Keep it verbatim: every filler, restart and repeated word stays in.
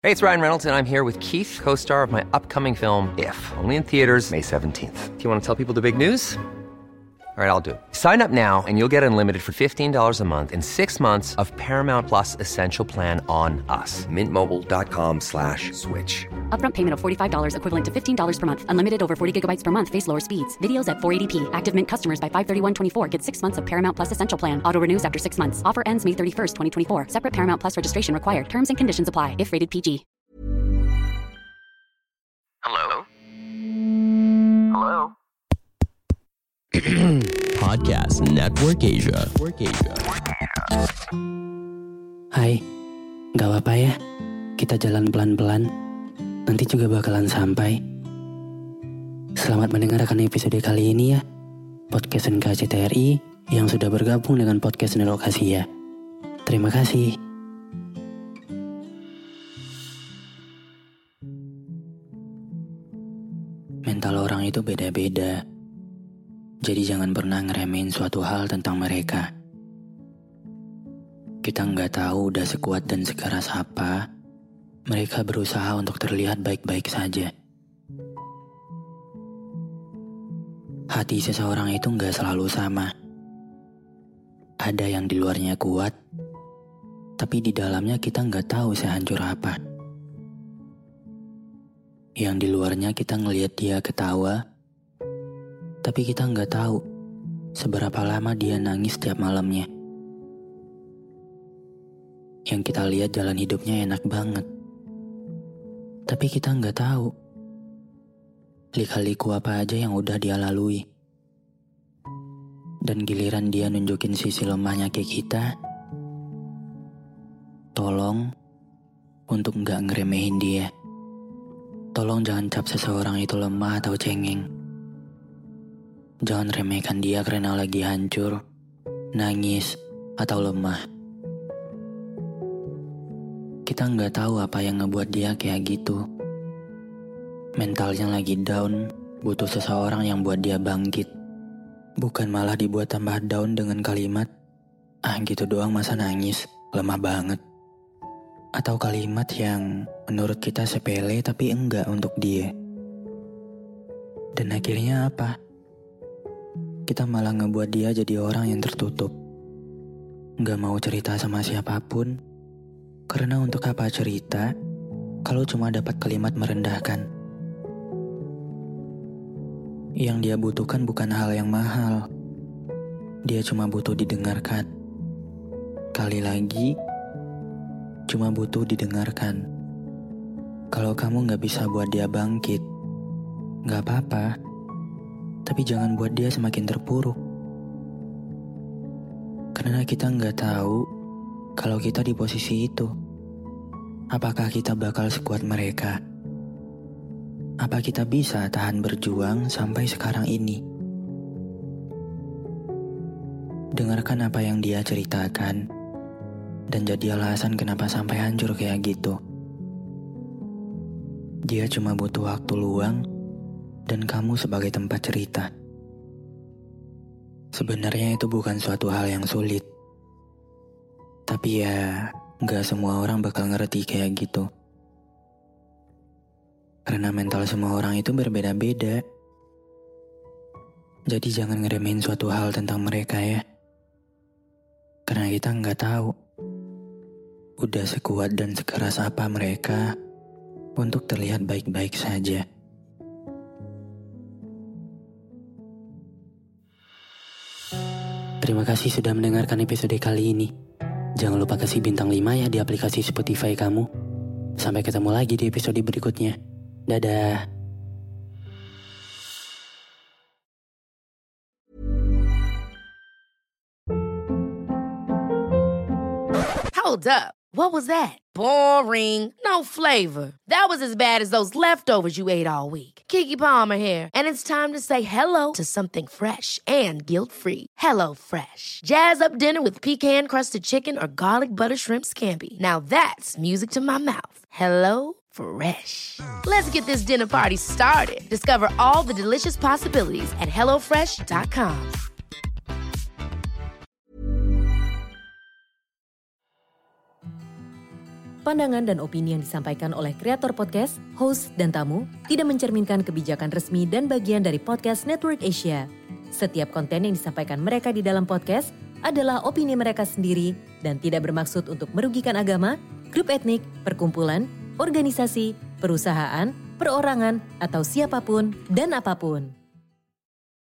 Hey, it's Ryan Reynolds, and I'm here with Keith, co-star of my upcoming film, If, only in theaters May seventeenth. Do you want to tell people the big news? All right, I'll do it. Sign up now and you'll get unlimited for fifteen dollars a month and six months of Paramount Plus Essential Plan on us. Mint Mobile dot com slash switch. Upfront payment of forty-five dollars equivalent to fifteen dollars per month. Unlimited over forty gigabytes per month. Face lower speeds. Videos at four eighty p. Active Mint customers by five thirty-one twenty-four get six months of Paramount Plus Essential Plan. Auto renews after six months. Offer ends May thirty-first, twenty twenty-four. Separate Paramount Plus registration required. Terms and conditions apply if rated P G. Hello? Hello? Podcast Network Asia. Network Asia. Hai, gak apa-apa ya, kita jalan pelan-pelan, nanti juga bakalan sampai. Selamat mendengarkan episode kali ini ya, Podcast N K C T R I yang sudah bergabung dengan Podcast Network Asia. Terima kasih. Mental orang itu beda-beda. Jadi jangan pernah ngeremehin suatu hal tentang mereka. Kita nggak tahu udah sekuat dan sekeras apa, mereka berusaha untuk terlihat baik-baik saja. Hati seseorang itu nggak selalu sama. Ada yang di luarnya kuat, tapi di dalamnya kita nggak tahu sehancur apa. Yang di luarnya kita ngelihat dia ketawa, tapi kita nggak tahu seberapa lama dia nangis setiap malamnya. Yang kita lihat jalan hidupnya enak banget, tapi kita nggak tahu lika-liku apa aja yang udah dia lalui. Dan giliran dia nunjukin sisi lemahnya ke kita, tolong untuk nggak ngeremehin dia. Tolong jangan cap seseorang itu lemah atau cengeng. Jangan remehkan dia karena lagi hancur, nangis, atau lemah. Kita nggak tahu apa yang ngebuat dia kayak gitu. Mentalnya lagi down, butuh seseorang yang buat dia bangkit. Bukan malah dibuat tambah down dengan kalimat, ah gitu doang masa nangis, lemah banget. Atau kalimat yang menurut kita sepele tapi enggak untuk dia. Dan akhirnya apa? Kita malah ngebuat dia jadi orang yang tertutup. Gak mau cerita sama siapapun. Karena untuk apa cerita kalau cuma dapat kalimat merendahkan. Yang dia butuhkan bukan hal yang mahal. Dia cuma butuh didengarkan. Kali lagi, cuma butuh didengarkan. Kalau kamu gak bisa buat dia bangkit, gak apa-apa. Tapi jangan buat dia semakin terpuruk. Karena kita nggak tahu kalau kita di posisi itu. Apakah kita bakal sekuat mereka? Apa kita bisa tahan berjuang sampai sekarang ini? Dengarkan apa yang dia ceritakan dan jadi alasan kenapa sampai hancur kayak gitu. Dia cuma butuh waktu luang dan kamu sebagai tempat cerita. Sebenarnya itu bukan suatu hal yang sulit. Tapi ya, gak semua orang bakal ngerti kayak gitu. Karena mental semua orang itu berbeda-beda. Jadi jangan ngeremehin suatu hal tentang mereka ya. Karena kita gak tahu udah sekuat dan sekeras apa mereka untuk terlihat baik-baik saja. Terima kasih sudah mendengarkan episode kali ini. Jangan lupa kasih bintang lima ya di aplikasi Spotify kamu. Sampai ketemu lagi di episode berikutnya. Dadah. Hold up. What was that? Boring. No flavor. That was as bad as those leftovers you ate all week. Keke Palmer here, and it's time to say hello to something fresh and guilt-free. Hello Fresh. Jazz up dinner with pecan-crusted chicken or garlic butter shrimp scampi. Now that's music to my mouth. Hello Fresh. Let's get this dinner party started. Discover all the delicious possibilities at hello fresh dot com. pandangan dan opini yang disampaikan oleh kreator podcast, host, dan tamu tidak mencerminkan kebijakan resmi dan bagian dari podcast Network Asia. Setiap konten yang disampaikan mereka di dalam podcast adalah opini mereka sendiri dan tidak bermaksud untuk merugikan agama, grup etnik, perkumpulan, organisasi, perusahaan, perorangan, atau siapapun dan apapun.